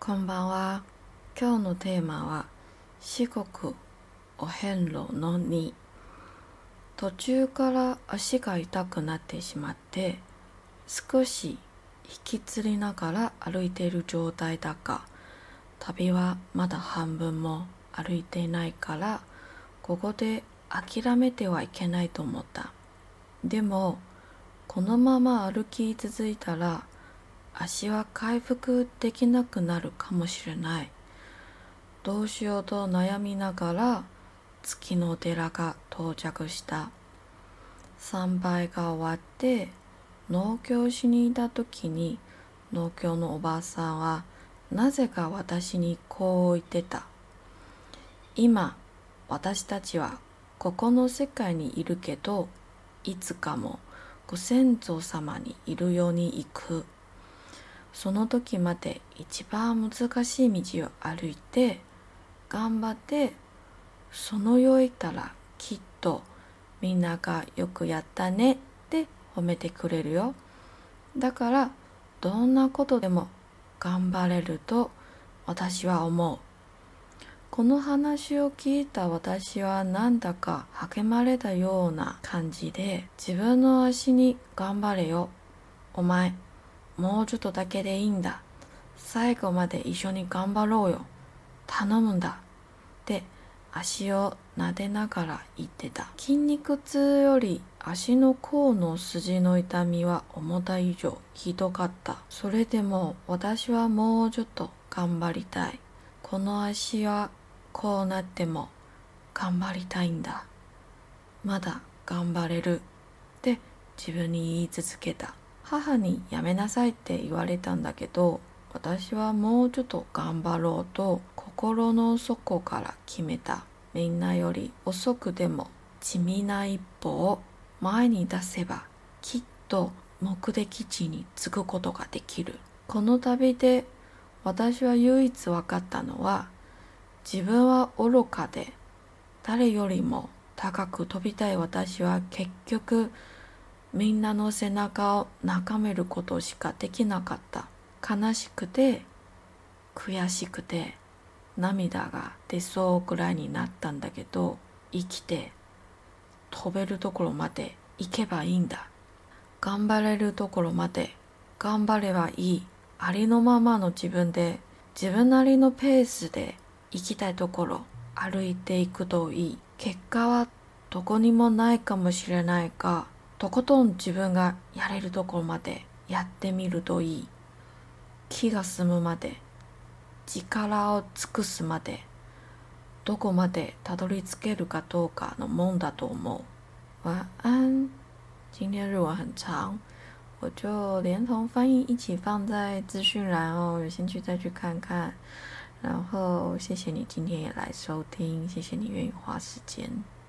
こんばんは。今日のテーマは四国お遍路の2。途中から足が痛くなってしまって少し引きつりながら歩いている状態だが、旅はまだ半分も歩いていないから、ここで諦めてはいけないと思った。でもこのまま歩き続いたら足は回復できなくなるかもしれない。どうしようと悩みながら月の寺が到着した。参拝が終わって農協しにいた時に、農協のおばあさんはなぜか私にこう言ってた。今私たちはここの世界にいるけど、いつかもご先祖様にいるように行く。その時まで一番難しい道を歩いて頑張って、その世へ行ったらきっとみんながよくやったねって褒めてくれるよ。だからどんなことでも頑張れると私は思う。この話を聞いた私はなんだか励まれたような感じで、自分の足に頑張れよ。お前もうちょっとだけでいいんだ。最後まで一緒に頑張ろうよ。頼むんだ。って足を撫でながら言ってた。筋肉痛より足の甲の筋の痛みは思った以上ひどかった。それでも私はもうちょっと頑張りたい。この足はこうなっても頑張りたいんだ。まだ頑張れるって自分に言い続けた。母にやめなさいって言われたんだけど、私はもうちょっと頑張ろうと心の底から決めた。みんなより遅くでも地味な一歩を前に出せば、きっと目的地に着くことができる。この旅で私は唯一分かったのは、自分は愚かで誰よりも高く飛びたい私は結局みんなの背中を眺めることしかできなかった。悲しくて悔しくて涙が出そうくらいになったんだけど、生きて飛べるところまで行けばいいんだ。頑張れるところまで頑張ればいい。ありのままの自分で、自分なりのペースで行きたいところ歩いていくといい。結果はどこにもないかもしれないが、とことん自分がやれるところまでやってみるといい。気が済むまで、力を尽くすまで、どこまでたどり着けるかどうかのもんだと思う。晚安。今天日文很长，我就连同翻译一起放在资讯栏哦，有兴趣再去看看。然后谢谢你今天也来收听，谢谢你愿意花时间。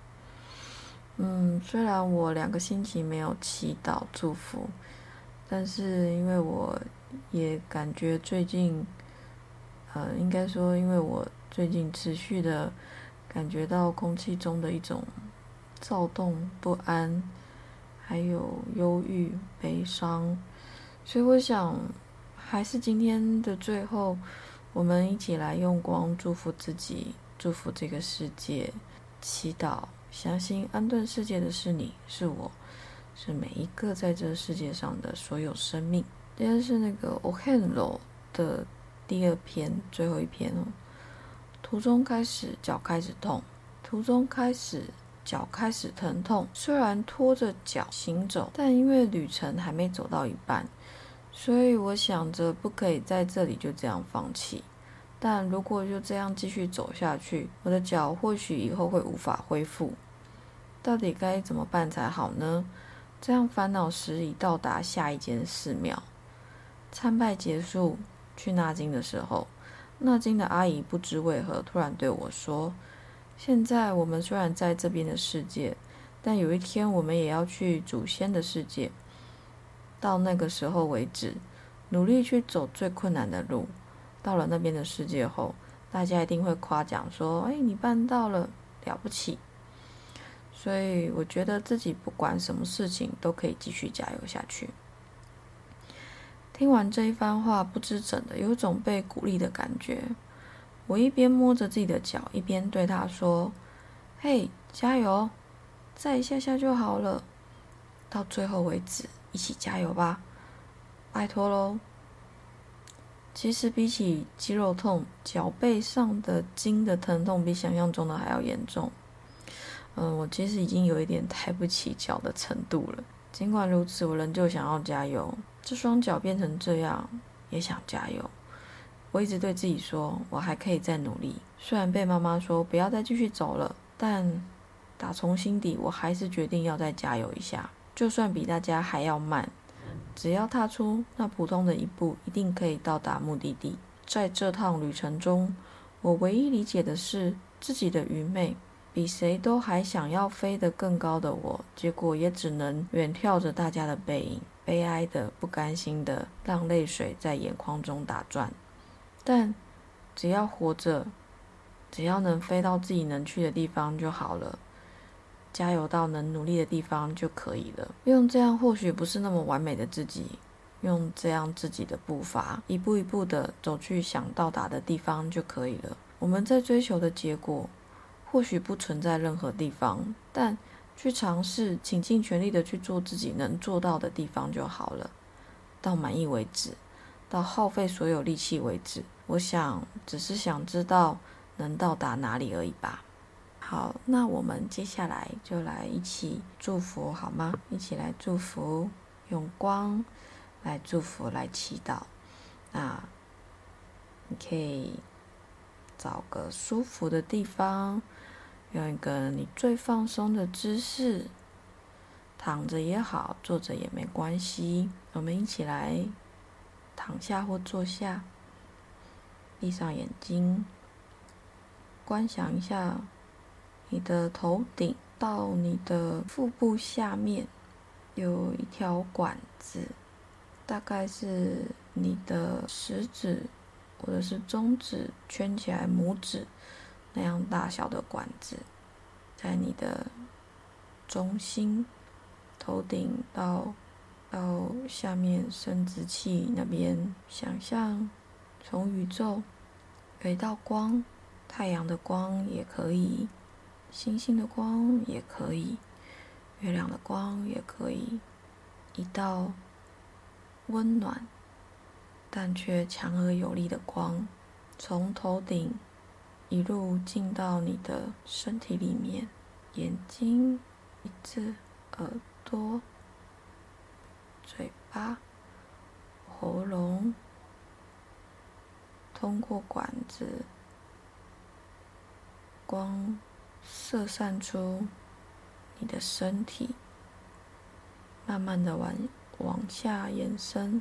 虽然我2个星期没有祈祷祝福，但是因为我也感觉最近应该说因为我最近持续的感觉到空气中的一种躁动不安，还有忧郁悲伤，所以我想还是今天的最后，我们一起来用光祝福自己，祝福这个世界，祈祷相信安顿世界的是你，是我，是每一个在这世界上的所有生命。今天是那个 Ohenro 的第2篇最后一篇哦。途中开始脚开始痛，途中开始脚开始疼痛，虽然拖着脚行走，但因为旅程还没走到一半，所以我想着不可以在这里就这样放弃。但如果就这样继续走下去，我的脚或许以后会无法恢复。到底该怎么办才好呢？这样烦恼时已到达下一间寺庙。参拜结束，去纳经的时候，纳经的阿姨不知为何突然对我说，现在我们虽然在这边的世界，但有一天我们也要去祖先的世界。到那个时候为止，努力去走最困难的路。到了那边的世界后，大家一定会夸奖说，你办到了，了不起。所以我觉得自己不管什么事情都可以继续加油下去。 听完这一番话，不知怎的有种被鼓励的感觉。我一边摸着自己的脚，一边对他说：“嘿，加油！再一下下就好了，到最后为止，一起加油吧，拜托喽！”其实比起肌肉痛，脚背上的筋的疼痛比想象中的还要严重。我其实已经有一点抬不起脚的程度了。尽管如此，我仍旧想要加油。这双脚变成这样，也想加油。我一直对自己说，我还可以再努力。虽然被妈妈说不要再继续走了，但打从心底，我还是决定要再加油一下。就算比大家还要慢，只要踏出那普通的一步，一定可以到达目的地。在这趟旅程中，我唯一理解的是自己的愚昧。比谁都还想要飞得更高的我，结果也只能远眺着大家的背影，悲哀的、不甘心的，让泪水在眼眶中打转。但只要活着，只要能飞到自己能去的地方就好了，加油到能努力的地方就可以了。用这样或许不是那么完美的自己，用这样自己的步伐，一步一步的走去想到达的地方就可以了。我们在追求的结果或许不存在任何地方，但去尝试，请尽全力的去做自己能做到的地方就好了，到满意为止，到耗费所有力气为止。我想只是想知道能到达哪里而已吧。好，那我们接下来就来一起祝福好吗？一起来祝福，用光来祝福，来祈祷。那你可以找个舒服的地方，用一个你最放松的姿势，躺着也好，坐着也没关系。我们一起来躺下或坐下，闭上眼睛，观想一下你的头顶到你的腹部下面有一条管子，大概是你的食指或者是中指圈起来拇指那样大小的管子，在你的中心头顶到下面生殖器那边，想象从宇宙有一道光，太阳的光也可以，星星的光也可以，月亮的光也可以，一道温暖但却强而有力的光，从头顶一路进到你的身体里面，眼睛、鼻子、耳朵、嘴巴、喉咙，通过管子，光射散出你的身体，慢慢的往下延伸，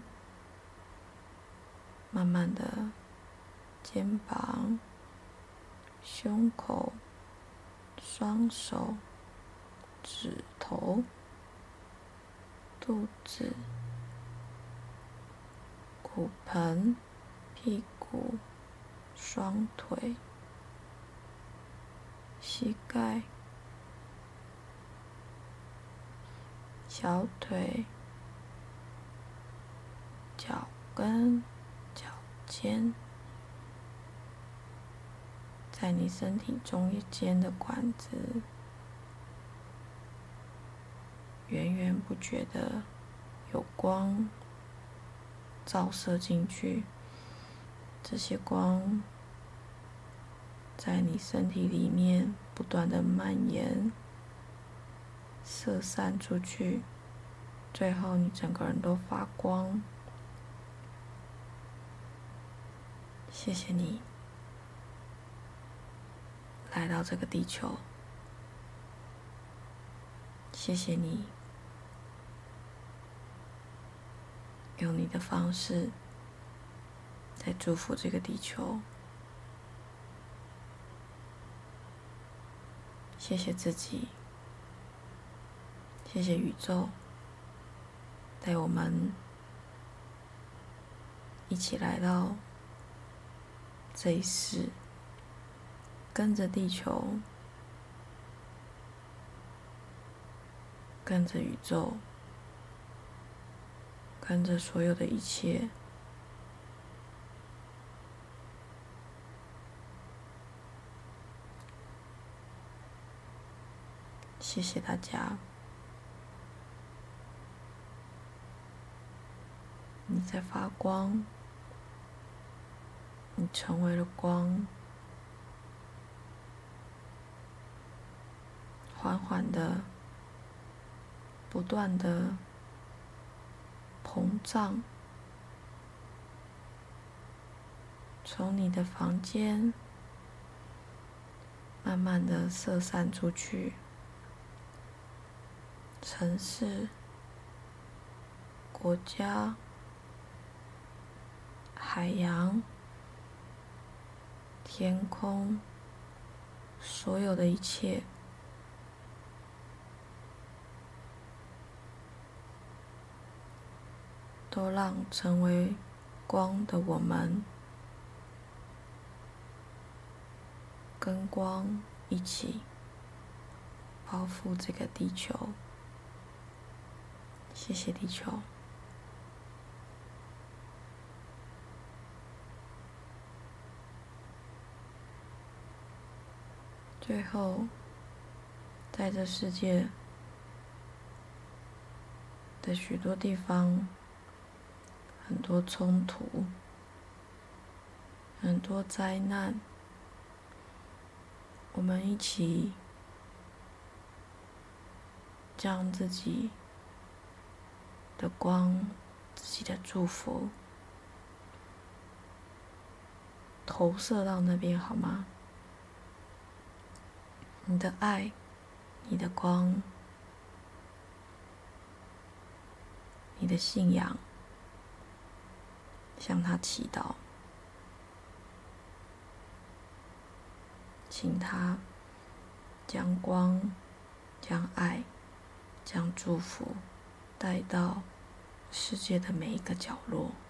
慢慢的肩膀、胸口、双手、指头、肚子、骨盆、屁股、双腿、膝盖、小腿、脚跟、脚尖，在你身体中间的管子，源源不绝的有光照射进去，这些光在你身体里面不断的蔓延，射散出去，最后你整个人都发光。谢谢你来到这个地球，谢谢你用你的方式在祝福这个地球。谢谢自己，谢谢宇宙，带我们一起来到这一世，跟着地球，跟着宇宙， 跟着所有的一切。谢谢大家，你在发光，你成为了光，缓缓的、不断的膨胀，从你的房间慢慢的射散出去，城市、国家、海洋、天空，所有的一切都让成为光的我们跟光一起包覆这个地球。谢谢地球。最后，在这世界的许多地方，很多冲突，很多灾难，我们一起将自己的光、自己的祝福投射到那边，好吗？你的爱，你的光，你的信仰，向他祈祷，请他将光、将爱、将祝福带到世界的每一个角落。